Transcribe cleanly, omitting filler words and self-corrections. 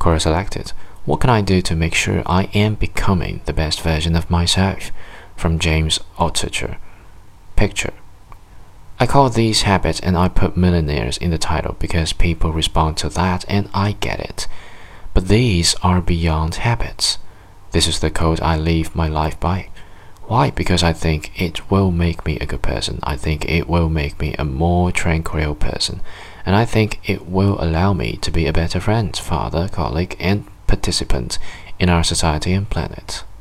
Quora selected. What can I do to make sure I am becoming the best version of myself? From James Altucher. Picture. I call these habits and I put millionaires in the title because people respond to that and I get it. But these are beyond habits. This is the code I live my life by. Why? Because I think it will make me a good person. I think it will make me a more tranquil person. And I think it will allow me to be a better friend, father, colleague, and participant in our society and planet.